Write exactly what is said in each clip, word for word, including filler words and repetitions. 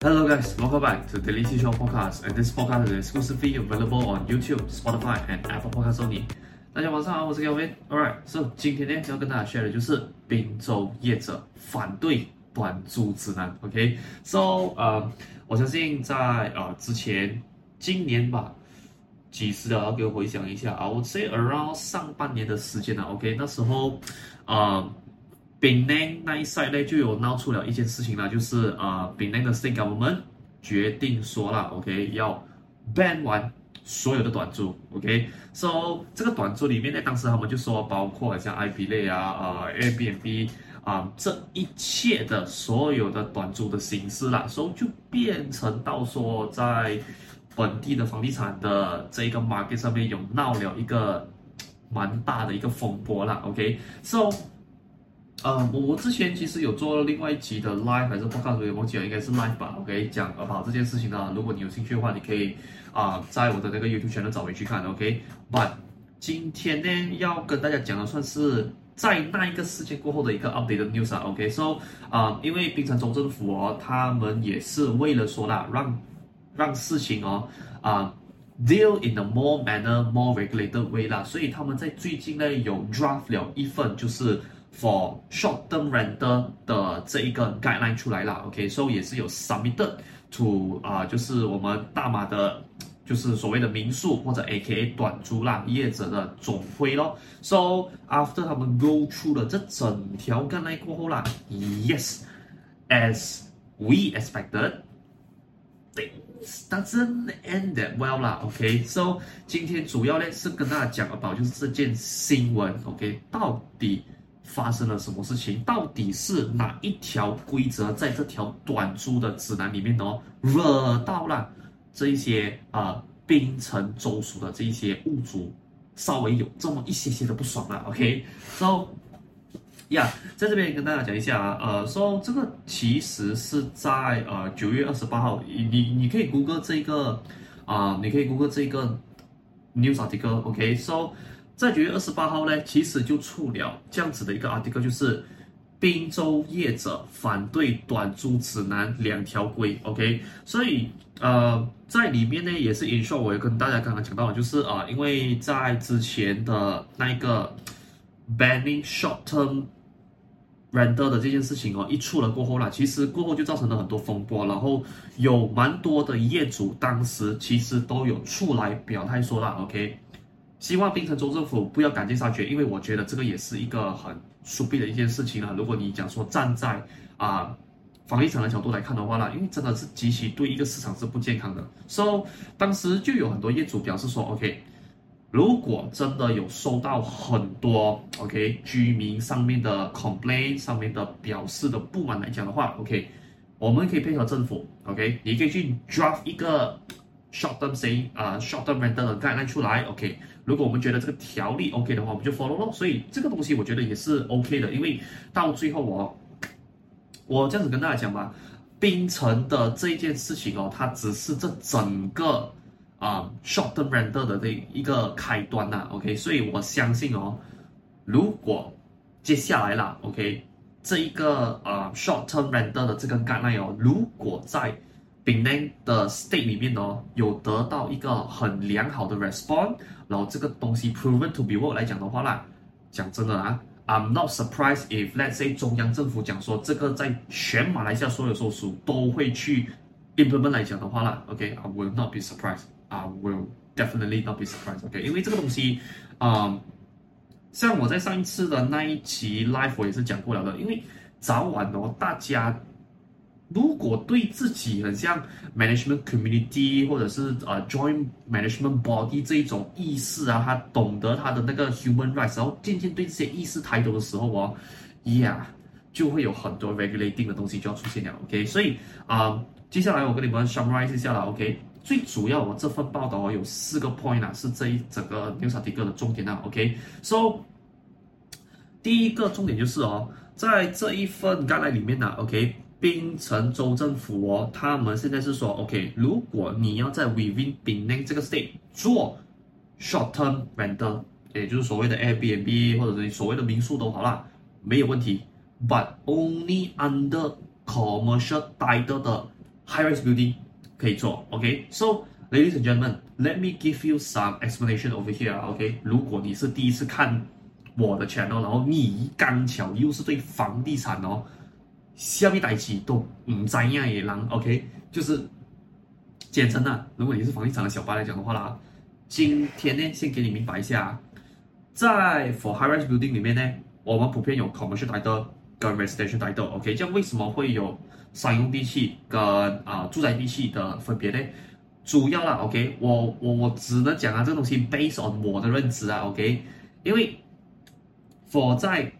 Hello guys, welcome back to Daily Seashore Podcast, and this podcast is exclusively available on YouTube, Spotify, and Apple Podcasts only. 大家晚上好，我是 Kelvin. Alright, so 今天呢要跟大家 share 的就是賓州業者反對短租指南。OK, so 呃，我相信在呃之前今年吧，幾時了？要給我回想一下啊，我 say around 上半年的時間了。OK, 那時候呃。檳城那一 side 呢就有鬧出了一件事情啦，就是呃，檳城的 state government 決定說啦 ，OK 要 ban 完所有的短租 ，OK，so 這個短租裡面呢，當時他們就說包括像 I P 類啊、呃 Airbnb 啊、呃、這一切的所有的短租的形式啦，所以就變成到說在本地的房地產的這個 market 上面有鬧了一個蠻大的一個風波啦 ，OK，so。呃，我之前其實有做另外一集的 live 還是 podcast， 我記得應該是 live 吧 ，OK， 講 about 這件事情呢。如果你有興趣的話，你可以啊、呃、在我的那個 YouTube channel 找回去看 ，OK。But 今天呢要跟大家講的算是在那一個事件過後的一個 update 的 news 啊 ，OK。So 啊、呃，因為檳城州政府哦，他們也是為了說啦，讓讓事情哦啊、呃、deal in a more manner, more regulated way 啦，所以他們在最近呢有 draft 了一份就是。For short-term rental 的這一個 guideline 出來了 ，OK，so 也是有 submitted to 啊、呃，就是我們大馬的，就是所謂的民宿或者 A K A 短租啦業者的總會咯。So after 他們 go through 了這整條 guideline 過後啦 ，yes，as we expected。Things doesn't end that well 啦 ，OK，so 今天主要呢是跟大家講 about 就是這件新聞 ，OK， 到底發生了什麼事情？到底是哪一條規則在這條短租的指南裡面哦，惹到了這一些呃檳城州屬的這一些屋主，稍微有這麼一些些的不爽了 ，OK，so yeah， 在這邊跟大家講一下啊，呃，so 這個其實是在呃九月二十八號，你你可以 Google 這個啊、呃，你可以 Google 這個 news article，OK，so。在九月二十八號呢，其實就出了這樣子的一個 article， 就是賓州業者反對短租指南兩條規 ，OK， 所以呃在裡面呢也是 in short， 我也跟大家剛剛講到的，就是啊、呃，因為在之前的那一個 banning short term rental 的這件事情哦一出了過後啦，其實過後就造成了很多風波，然後有蠻多的業主當時其實都有出來表態說啦 ，OK。希望檳城州政府不要趕盡殺絕，因為我覺得這個也是一個很 stupid 的一件事情啊。如果你講說站在啊、呃、房地產的角度來看的話啦，因為真的是極其對一個市場是不健康的。So 當時就有很多業主表示說 ，OK， 如果真的有收到很多 OK 居民上面的 complaint 上面的表示的不滿來講的話 ，OK， 我們可以配合政府 ，OK， 你可以去 draft 一個 short term say 啊、呃、short term rental 的 guideline 出來 ，OK。如果我們覺得這個條例 OK 的話，我們就 follow 咯。所以這個東西我覺得也是 OK 的，因為到最後我我這樣子跟大家講吧，檳城的這一件事情哦，它只是這整個啊、呃、short term rental 的這一個開端吶、啊、，OK。所以我相信哦，如果接下來啦 ，OK， 這一個啊、呃、short term rental 的這個 guideline 哦，如果在檳城的 state 裡面哦，有得到一個很良好的 response， 然後這個東西 proven to be work 來講的話啦，講真的啊 ，I'm not surprised if let's say 中央政府講說這個在全馬來西亞所有州屬都會去 implement 來講的話啦 ，OK，I will not be surprised，I will definitely not be surprised，OK， 因為這個東西，嗯、呃，像我在上一次的那一期 live 我也是講過了的，因為早晚哦大家。如果對自己很像 management community 或者是呃 joint management body 這一種意識啊，他懂得他的那個 human rights， 然後漸漸對這些意識抬頭的時候哦 ，yeah， 就會有很多 regulating 的東西就要出現了 ，OK， 所以啊、呃，接下來我跟你們 summarize 一下啦 ，OK， 最主要我這份報道哦有四個 point 啊，是這一整個 news article 的重點啊 ，OK，so 第一個重點就是哦，在這一份 guideline 裡面呢、啊、，OK。檳城州政府哦，他們現在是說 ，OK， 如果你要在 within 檳城這個 state 做 short term rental， 也就是所謂的 Airbnb 或者是所謂的民宿都好啦，沒有問題。But only under commercial title 的 high-rise building可以做 ，OK？So ladies and gentlemen, let me give you some explanation over here, OK？ 如果你是第一次看我的 channel， 然後你剛巧又是對房地產哦，下面代誌都唔知樣嘅人 ，OK？ 就是簡稱啊，如果你是房地產的小白來講的話啦，今天呢，先給你明白一下，在 for high-rise building 裡面呢，我們普遍有 commercial title 跟 residential title，OK？ 這樣為什麼會有商用地契跟啊、呃、住宅地契的分別呢？主要啦 ，OK， 我我我只能講啊，這個東西 based on 我的認知啊 ，OK， 因為 for 在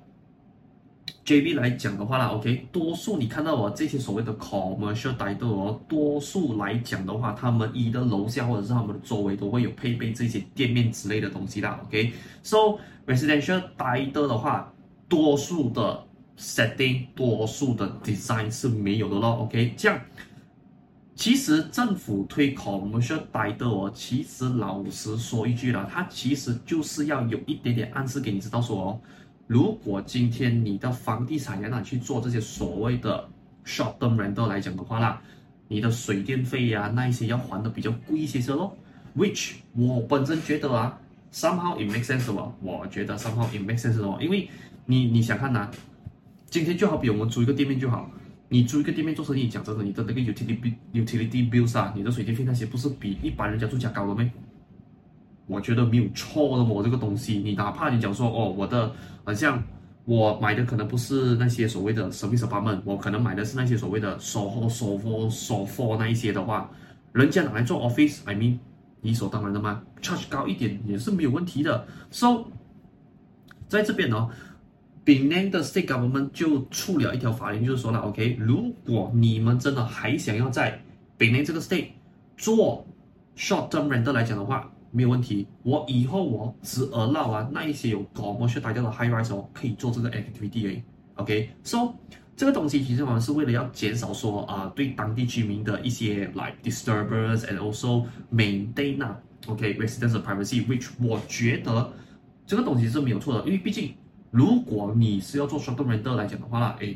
J B 來講的話啦 ，OK， 多數你看到我這些所謂的 commercial title 哦，多數來講的話，他們一的樓下或者是他們的周圍都會有配備這些店面之類的東西啦 ，OK，so residential title 的話，多數的 setting， 多數的 design 是沒有的咯 ，OK， 這樣。其實政府推 commercial title 哦，其實老實說一句啦，它其實就是要有一點點暗示給你知道說哦，如果今天你的房地產要拿去做這些所謂的 short term rental 來講的話啦，你的水電費呀、啊、那一些要還的比較貴一些些咯。Which 我本身覺得啊 ，somehow it makes sense 哦，我覺得 somehow it makes sense 哦，因為你你想看吶、啊，今天就好比我們租一個店面就好。你租一個店面做生意，講真的，你的那個 utility utility bills 啊，你的水電費那些不是比一般人家住家高了嗎？我覺得沒有錯的，我這個東西，你哪怕你講說哦，我的好像我買的可能不是那些所謂的 service apartment， 我可能買的是那些所謂的 soho soho sofa 那一些的話，人家拿來做 office，I mean 理所當然的嘛 ，charge 高一點也是沒有問題的。So 在這邊呢、哦。檳城的 state government 就出了一條法令，就是說了 ，OK， 如果你們真的還想要在檳城這個 state 做 short term rental 來講的話，沒有問題。我以後我只 allow 啊那一些有 commercial title 的 high rise 哦，可以做這個 activity 誒 ，OK，so 這個東西其實我們是為了要減少說啊、呃、對當地居民的一些 like disturbance and also maintain 啊 ，OK residents privacy，which 我覺得這個東西是沒有錯的，因為畢竟。如果你是要做 short term rental 來講的話啦，誒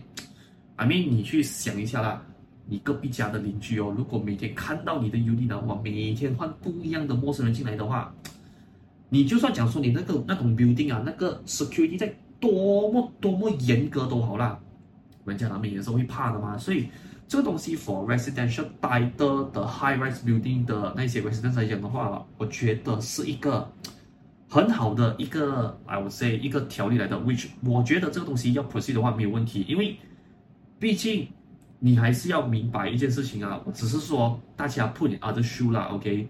I mean 你去想一下啦，你隔壁家的鄰居哦，如果每天看到你的 unit 的話，每天換不一樣的陌生人進來的話，你就算講說你那個那種 building 啊，那個 security 在多麼多麼嚴格都好啦，人家難免也是會怕的嘛。所以這個東西 for residential title 的 high rise building 的那些 residents 來講的話，我覺得是一個。很好的一個 I would say 一個條例來的 ，which 我覺得這個東西要 proceed 的話沒有問題，因為畢竟你還是要明白一件事情啊，我只是說大家 put in other shoe 啦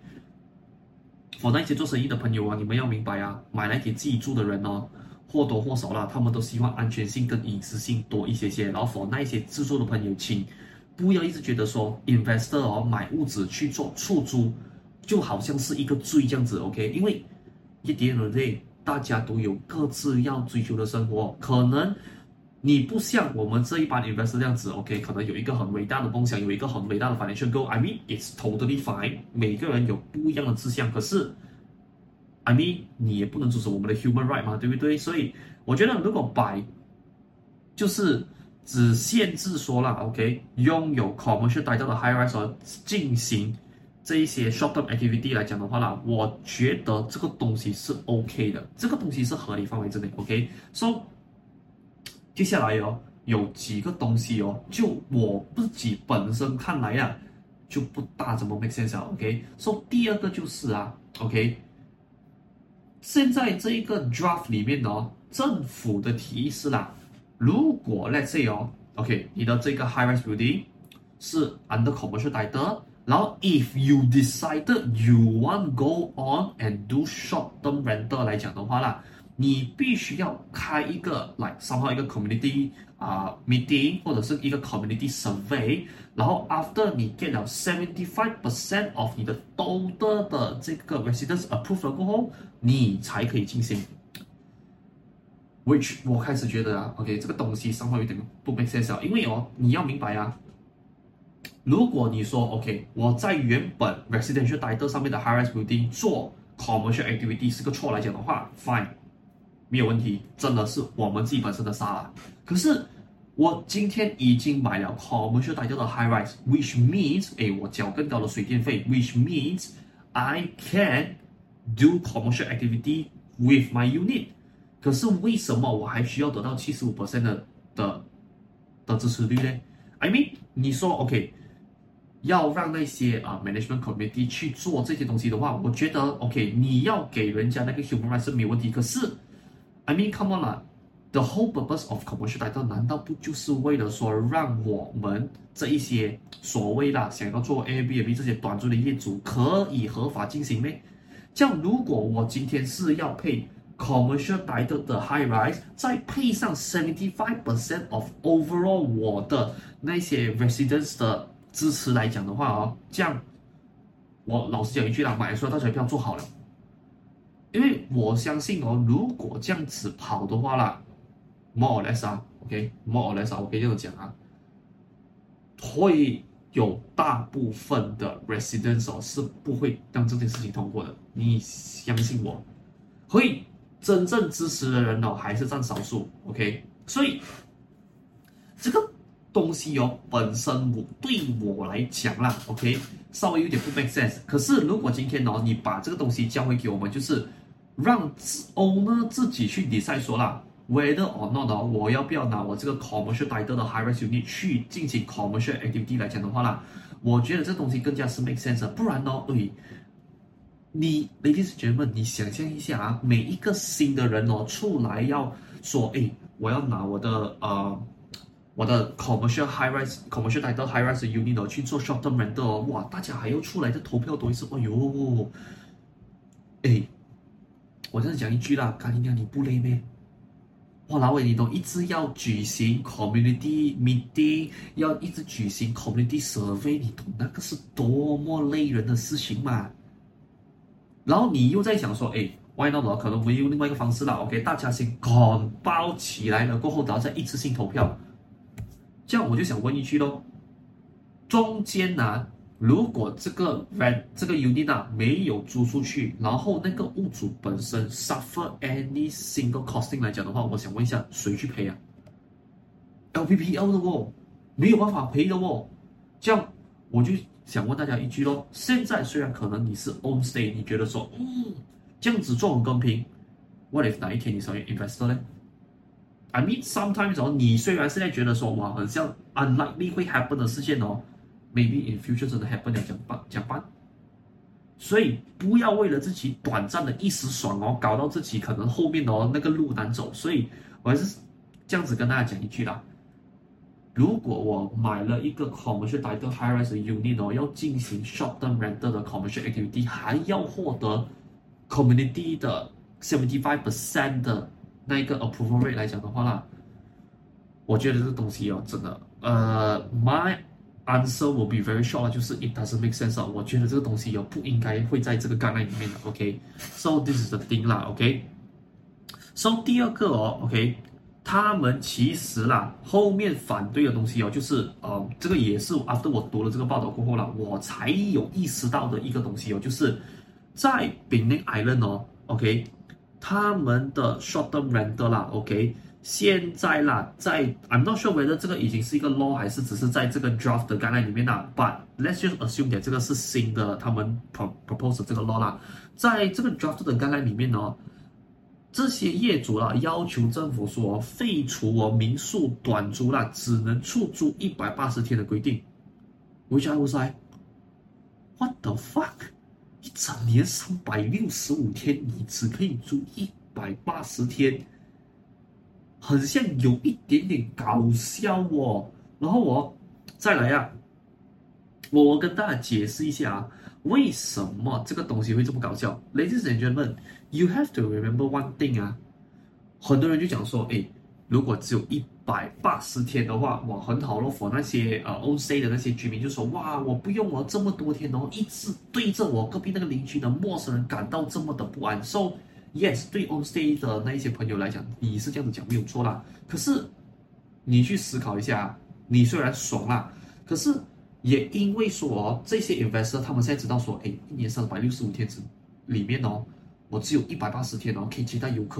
，OK。for 那些做生意的朋友啊，你們要明白啊，買來給自己住的人哦，或多或少啦，他們都希望安全性跟隱私性多一些些，然後 for 那一些自住的朋友，請不要一直覺得說 investor 哦買屋子去做出租，就好像是一個罪這樣子 ，OK， 因為。一點而累，大家都有各自要追求的生活。可能你不像我們這一般 investor 這樣子 ，OK， 可能有一個很偉大的夢想，有一個很偉大的 financial goal。I mean, it's totally fine。每個人有不一樣的志向，可是 I mean， 你也不能阻止我們的 human right 嘛，對不對？所以我覺得，如果擺就是只限制說了 ，OK， 擁有 commercial title 的 high rise 進行。這一些 short term activity 來講的話啦，我覺得這個東西是 OK 的，這個東西是合理範圍之內 ，OK。So 接下來哦，有幾個東西哦，就我自己本身看來啊，就不大怎麼 make sense 啊 ，OK。So 第二個就是啊 ，OK， 現在這一個 draft 裡面哦，政府的提議是啦，如果 let's say 哦 ，OK， 你的這個 high rise building 是 under commercial title。然後 ，if you decided you want go on and do short term rental 來講的話啦，你必須要開一個 like somehow 一個 community 啊、uh, meeting 或者是一個 community survey， 然後 after 你 get 了 seventy five percent of 你的 total 的這個 residents approved 了過後，你才可以進行。Which 我開始覺得啊 ，OK， 這個東西somehow有點不 make sense 啊，因為哦，你要明白啊。如果你說 OK， 我在原本 residential title 上面的 high rise building 做 commercial activity 是個錯來講的話 ，fine， 沒有問題，真的是我們自己本身的沙啦。可是我今天已經買了 commercial title 的 high rise，which means， 誒，我繳更高的水電費 ，which means I can do commercial activity with my unit。可是為什麼我還需要得到 百分之七十五 的的的支持率呢 ？I mean， 你說 OK， 要讓那些啊、uh, management committee 去做這些東西的話，我覺得 OK， 你要給人家那個 human rights 是沒問題。可是 I mean come on 啦。The whole purpose of commercial title 難道不就是為了說讓我們這一些所謂啦想要做 Airbnb 這些短租的業主可以合法進行嗎？這樣如果我今天是要配 commercial title 的 high rise， 再配上 seventy-five percent of overall 我的那些 residents 的支持來講的話哦，這樣我老實講一句啦，買說大家不要做好了，因為我相信哦，如果這樣子跑的話啦。more or less 啊 ，OK，more or less 啊，我可以這樣講啊，會有大部分的 residents 哦是不會讓這件事情通過的，你相信我，會真正支持的人哦還是佔少數 ，OK， 所以這個東西哦本身我對我來講啦 ，OK， 稍微有點不 make sense， 可是如果今天哦你把這個東西交回給我們，就是讓 owner 自己去 decide 說啦。Whether or not 哦，我要不要拿我這個 commercial title 的 high rise unit 去進行 commercial activity 來講的話啦，我覺得這東西更加是 make sense 的。不然哦，誒，你 ladies and gentlemen，你想象一下啊，每一個新的人哦出來要說，誒，我要拿我的呃我的 commercial high rise commercial title high rise unit 哦去做 short term rental 哦，哇，大家還要出來的投票多一次，哎呦，誒，我這樣講一句啦，卡尼亞你不累咩？哇，老偉，你都一直要舉行 community meeting， 要一直舉行 community survey， 你懂那個是多麼累人的事情嗎？然後你又在想說，哎 ，why not 可能我們用另外一個方式啦 ，OK， 大家先趕包起來了，過後然後再一次性投票。這樣我就想問一句咯，中間啊，如果這個 rent 這個 unit 啊沒有租出去，然後那個屋主本身 suffer any single costing 來講的話，我想問一下，誰去賠啊 ？L P P L 的哦，沒有辦法賠的哦。這樣我就想問大家一句咯，現在雖然可能你是 own stay， 你覺得說，嗯，這樣子做很公平 ，what if 哪一天你成為 investor 呢 ？I mean sometimes 哦，你雖然現在覺得說，哇，很像 unlikely 會 happen 的事件哦。Maybe in future 真的 happen 了，講辦講辦，所以不要為了自己短暫的一時爽哦，搞到自己可能後面哦那個路難走。所以我還是這樣子跟大家講一句啦，如果我買了一個 commercial title high rise unit 哦，要進行 short term rental 的 commercial activity， 還要獲得 community 的 seventy-five percent 的那一個 approval rate 來講的話啦，我覺得這個東西哦，真的，呃，my answer will be very short 就是 it doesn't make sense 啊，我覺得這個東西哦不應該會在這個 guideline 裡面的 ，OK，so this is the thing 啦 ，OK，so 第二個哦 ，OK， 他們其實啦後面反對的東西哦，就是呃這個也是 after 我讀了這個報道過後啦，我才有意識到的一個東西哦，就是在 Penang Island 哦 ，OK， 他們的 short term rental 啦 ，OK。現在啦，在 I'm not sure whether 這個已經是一個 law 還是只是在這個 draft 的 guideline 裡面啦。But let's just assume that 這個是新的他們 propose 的這個 law 啦。在這個 draft 的 guideline 裡面呢，這些業主啦要求政府說廢除哦民宿短租啦只能出租一百八十天的規定。Which I was like, what the fuck？ 一整年三百六十五天，你只可以租一百八十天。很像有一點點搞笑哦，然後我再來啊，我跟大家解釋一下啊，為什麼這個東西會這麼搞笑 ？Ladies and gentlemen, you have to remember one thing 啊，很多人就講說，誒，如果只有一百八十天的話，哇，很好咯 for 那些呃 own stay 的那些居民就說，哇，我不用我這麼多天哦，一直對着我隔壁那個鄰居的陌生人感到這麼的不安 ，so yes， 對 on stay 的那一些朋友來講，你是這樣子講沒有錯啦。可是你去思考一下，你雖然爽啦，可是也因為說哦，這些 investor 他們現在知道說，哎，一年三百六十五天裡面哦，我只有一百八十天哦可以接待遊客嘞。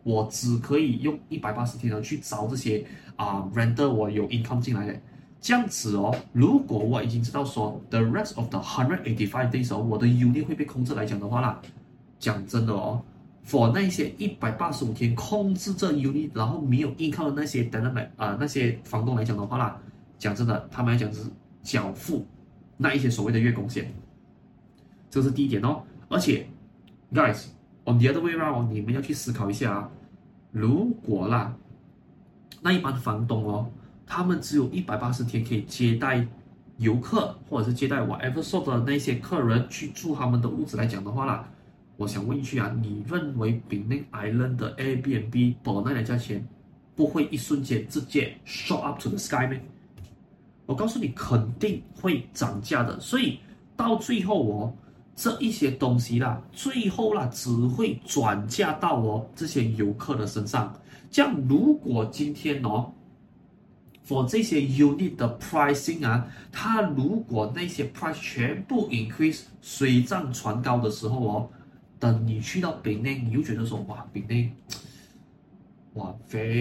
我只可以用一百八十天呢去找這些啊、呃、renter 我有 income 進來的。這樣子哦，如果我已經知道說 the rest of the one hundred eighty-five days 哦，我的 unit 會被控制來講的話啦，講真的哦 ，for 那些一百八十五天控制這 unit 然後沒有 income 的那些 tenant 來啊、呃、那些房東來講的話啦，講真的，他們來講是繳付那一些所謂的月供險，這是第一點哦。而且 ，guys on the other way round， 你們要去思考一下啊，如果啦，那一般房東哦。他們只有一百八十天可以接待遊客，或者是接待 whatever sort 的那些客人去住他們的屋子來講的話啦，我想問一句啊，你認為 Penang Island 的 Airbnb 本來的價錢不會一瞬間直接 shot up to the sky 嗎？我告訴你，肯定會漲價的。所以到最後哦，這一些東西啦，最後啦只會轉嫁到哦這些遊客的身上。這樣如果今天哦。for 這些 unit 的 pricing 啊，它如果那些 price 全部 increase 水漲船高的時候哦，等你去到 Penang， 你又覺得說哇 Penang， 哇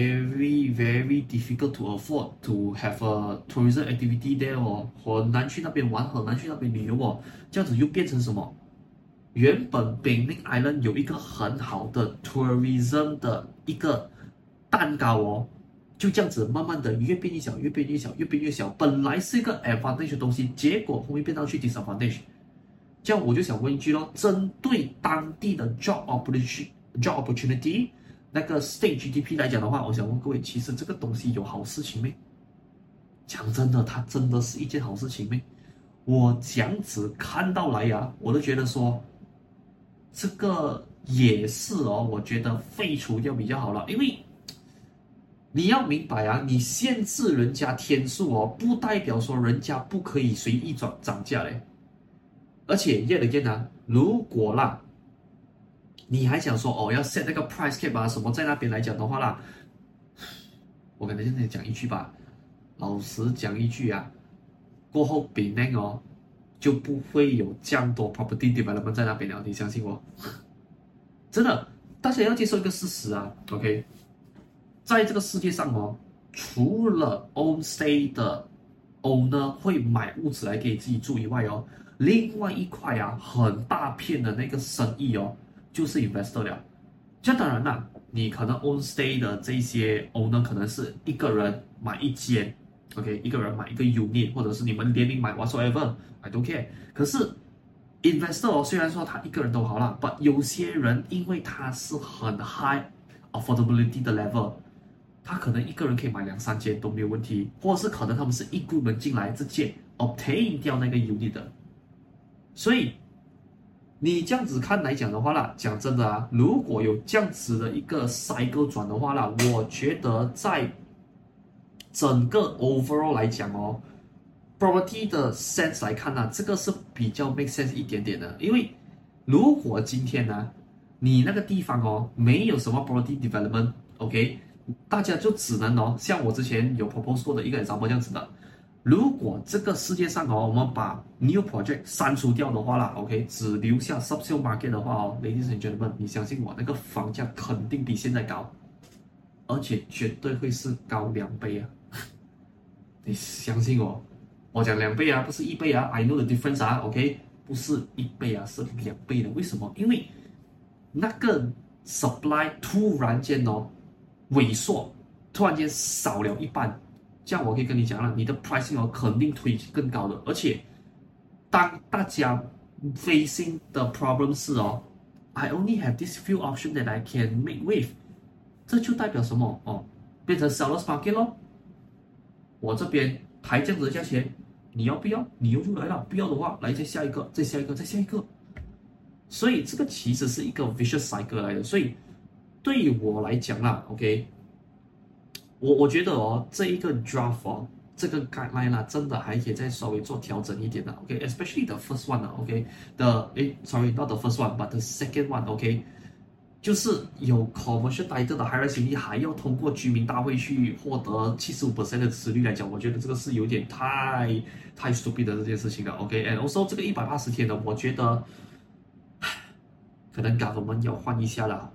very very difficult to afford to have a tourism activity there 哦，很難去那邊玩，很難去那邊旅遊哦，這樣子又變成什麼？原本 Penang Island 有一個很好的 tourism 的一個蛋糕哦。就這樣子慢慢的越變越小，越變越小，越變越小。本來是一個 advantage 的東西，結果後面變到去 disadvantage。這樣我就想問一句咯，針對當地的 job opportunity、job opportunity 那個 state G D P 來講的話，我想問各位，其實這個東西有好事情沒？講真的，它真的是一件好事情沒？我這樣子看到來呀，我都覺得說，這個也是哦，我覺得廢除掉比較好了，因為。你要明白啊，你限制人家天數哦，不代表說人家不可以隨意漲漲價嘞。而且 yet again 啊，如果啦，你還想說哦要 set 那個 price cap 啊什麼在那邊來講的話啦，我跟大家講一句吧，老實講一句啊，過後 Penang 哦就不會有這樣多 property development 在那邊了，你相信我，真的，大家要接受一個事實啊 ，OK。在這個世界上哦，除了 own stay 的 owner 會買屋子來給自己住以外哦，另外一塊啊很大片的那個生意哦，就是 investor 了。這當然啦，你可能 own stay 的這些 owner 可能是一個人買一間 ，OK， 一個人買一個 unit， 或者是你們聯名買 whatsoever，I don't care。可是 investor 哦，雖然說他一個人都好啦 ，but 有些人因為他是很 high affordability 的 level。他可能一個人可以買兩三間都沒有問題，或者是可能他們是一股門進來直接 obtain 掉那個 unit 的，所以你這樣子看來講的話啦，講真的啊，如果有這樣子的一個 cycle 轉的話啦，我覺得在整個 overall 來講哦 ，property 的 sense 來看呢、啊，這個是比較 make sense 一點點的，因為如果今天呢、啊，你那個地方哦沒有什麼 property development，OK。大家就只能哦，像我之前有 propose 過的一個 example 這樣子的。如果這個世界上哦，我們把 new project 刪除掉的話啦 ，OK， 只留下 subsale market 的話哦 ，ladies and gentlemen，你相信我，那個房價肯定比現在高，而且絕對會是高兩倍啊！你相信我，我講兩倍啊，不是一倍啊 ，I know the difference 啊 ，OK， 不是一倍啊，是兩倍的。為什麼？因為那個 supply 突然間哦。萎縮，突然間少了一半，這樣我可以跟你講了，你的 pricing 哦肯定推更高的。而且，當大家 facing 的 problem 是哦 ，I only have this few options that I can make with， 這就代表什麼哦？變成 sellers market 咯。我這邊抬這樣子的價錢，你要不要？你又就來了，不要的話，來再下一個，再下一個，再下一個。所以這個其實是一個 vicious cycle 來的，所以。對於我來講啦 ，OK， 我我覺得哦，這一個 draft 哦，這個 guideline 啦，真的還可以再稍微做調整一點的 ，OK，especially、okay? the first one 啊 ，OK，the 誒，sorry，not the first one，but the second one，OK，、okay? 就是有 commercial title 的 high-rise unit 還要通過居民大會去獲得七十五 percent 的支持率來講，我覺得這個是有點太太 stupid 的這件事情了 ，OK，and、okay? also 這個一百八十天的，我覺得可能 government 要換一下了。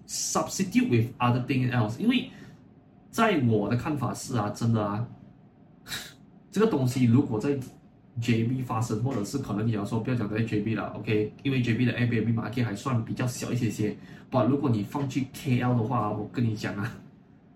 substitute with other thing else， 因為在我的看法是啊，真的啊，這個東西如果在 J B 發生，或者是可能你要說不要講在 J B 了 ，OK， 因為 J B 的 Airbnb market 還算比較小一些些，不，如果你放去 K L 的話，我跟你講啊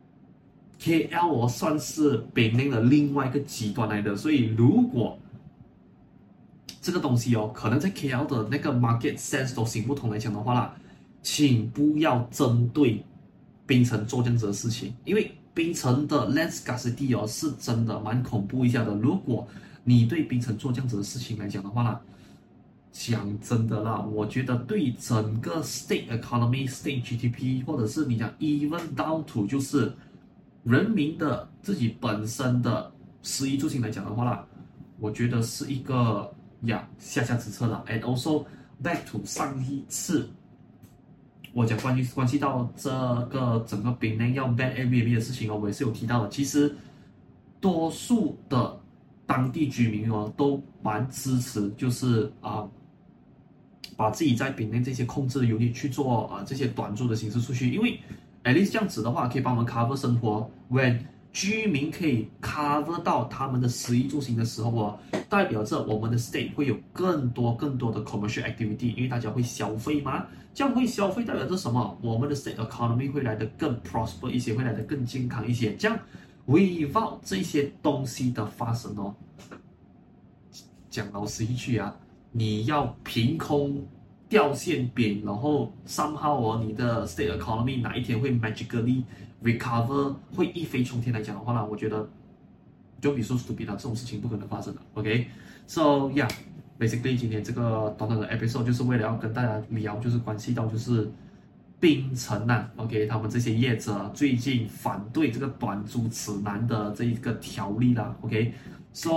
，K L 我算是北寧的另外一個極端來的，所以如果這個東西哦，可能在 K L 的那個 market sense 都行不通來講的話啦，請不要針對檳城做這樣子的事情，因為檳城的 land scarcity 哦是真的蠻恐怖一下的，如果你對檳城做這樣子的事情來講的話啦，講真的啦，我覺得對整個 state economy、state G D P， 或者是你講 even down to 就是人民的自己本身的食衣住行來講的話啦，我覺得是一個呀下下之策啦。And also back to 上一次我講關於關係到這個整個檳城要 ban Airbnb 的事情哦，我也是有提到的。其實多數的當地居民哦，都蠻支持，就是啊、呃，把自己在檳城這些控制的 unit 去做啊、呃、這些短租的形式出去，因為 at least 這樣子的話，可以幫我們 cover 生活。when 居民可以 cover 到他們的食衣住行的時候哦，代表着我們的 state 會有更多更多的 commercial activity， 因為大家會消費嘛，這樣會消費代表着什麼？我們的 state economy 會來得更 prosper 一些，會來得更健康一些，這樣。without 這些東西的發生哦，講老實一句啊，你要憑空掉餡餅，然後 somehow 哦，你的 state economy 哪一天會 magically recover， 會一飛沖天來講的話呢，我覺得就比說 stupid 啦，這種事情不可能發生的。OK，so yeah，basically 今天這個短短的 episode 就是為了要跟大家聊，就是關係到就是檳城吶、啊、，OK， 他們這些業者最近反對這個短租指南的這一個條例啦 ，OK，so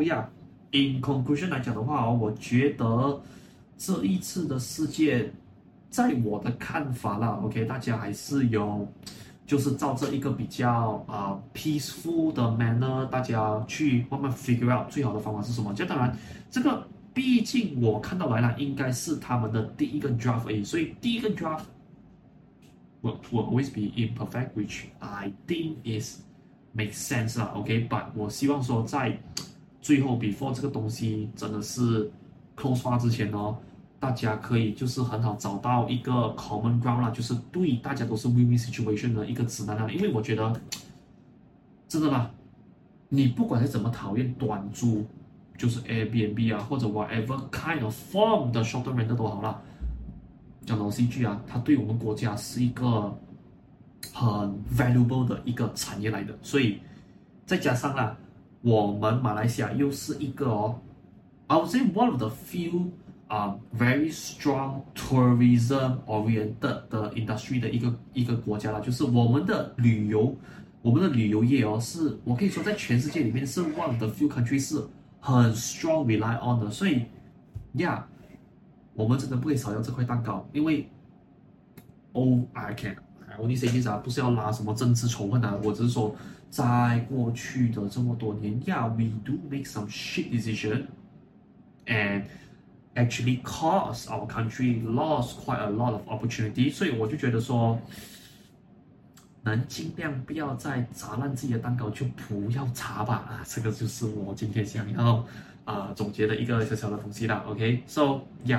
yeah，in conclusion 來講的話哦，我覺得這一次的事件，在我的看法啦 ，OK， 大家還是有，就是照着一個比較啊、呃、peaceful 的 manner， 大家去慢慢 figure out 最好的方法是什麼。這當然，這個畢竟我看到來了，應該是他們的第一個 draft 而已，所以第一個 draft。Will, will always be imperfect, which I think is makes sense 啦 ，OK，but、okay? 我希望說在最後 before 這個東西真的是 close 發之前哦，大家可以就是很好找到一個 common ground 啦，就是對大家都是 win-win situation 的一個指南啦。因為我覺得真的啦，你不管是怎麼討厭短租，就是 Airbnb 啊，或者 whatever kind of form 的 short-term rental 都好啦。講老實一句啊，它對我們國家是一個很 valuable 的一個產業來的，所以再加上啦，我們馬來西亞又是一個哦 ，I would say one of the few 啊、uh, very strong tourism oriented 的 industry 的一個一個國家啦，就是我們的旅遊，我們的旅遊業哦，是我可以說在全世界裡面是 one of the few countries 是很 strong rely on 的，所以，yeah。我們真的不可以少掉這塊蛋糕，因為 ，Oh I can I only say this 啊，不是要拉什麼政治仇恨啊，我只是說，在過去的這麼多年，Yeah we do make some shit decision, and actually cause our country lost quite a lot of opportunity， 所以我就覺得說，能盡量不要再砸爛自己的蛋糕，就不要砸吧啊，這個就是我今天想要。啊、呃，總結的一個小小的東西啦 ，OK，so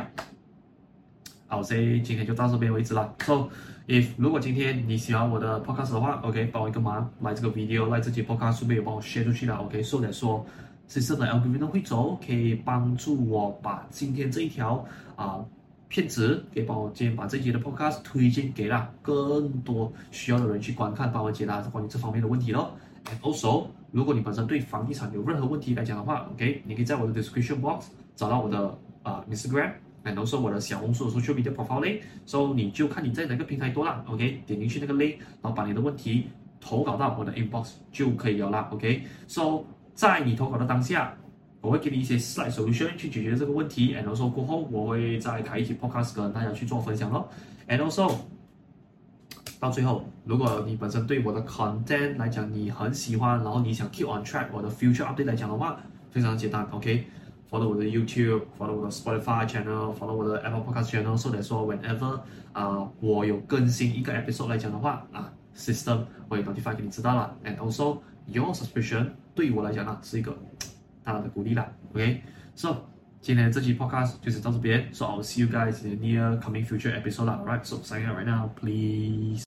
yeah，I'll say 今天就到這邊為止啦。So if 如果今天你喜歡我的 podcast 的話 ，OK， 幫我一個忙，來這個 video，來這期 podcast 順便也幫我 share 出去啦 ，OK，so that 說，system 的 algorithm 會走，可以幫助我把今天這一條啊、呃、片子，可以幫我今天把這一集的 podcast 推薦給啦更多需要的人去觀看，幫我解答關於這方面的問題咯。And also，如果你本身對房地產有任何問題來講的話 ，OK， 你可以在我的 description box 找到我的啊、呃、Instagram，and also 我的小紅書的 social media profile link，so 你就看你在哪個平台多啦 ，OK， 點進去那個 link，然後把你的問題投稿到我的 inbox 就可以了啦 ，OK，so 在你投稿的當下，我會給你一些 slide solution 去解決這個問題 ，and also 過後我會再開一期 podcast 跟大家去做分享咯 ，and also。到最後，如果你本身對我的 content 來講你很喜歡，然後你想 keep on track 我的 future update 來講的話，非常簡單 ，OK， follow 我的 YouTube，follow 我的 Spotify channel，follow 我的 Apple Podcast channel，so that 說 whenever 啊、呃、我有更新一個 episode 來講的話啊 ，system 會 notify 給你知道了 ，and also your subscription 對於我來講呢是一個大大的鼓勵啦 ，OK，so、okay? 今天這期 podcast 就是到這邊，so I'll see you guys in the near coming future episode 啦 ，alright，so signing out right now，please。